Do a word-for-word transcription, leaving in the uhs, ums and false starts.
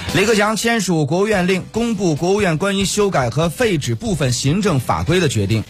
李克强签署国务院令，公布国务院关于修改和废止部分行政法规的决定。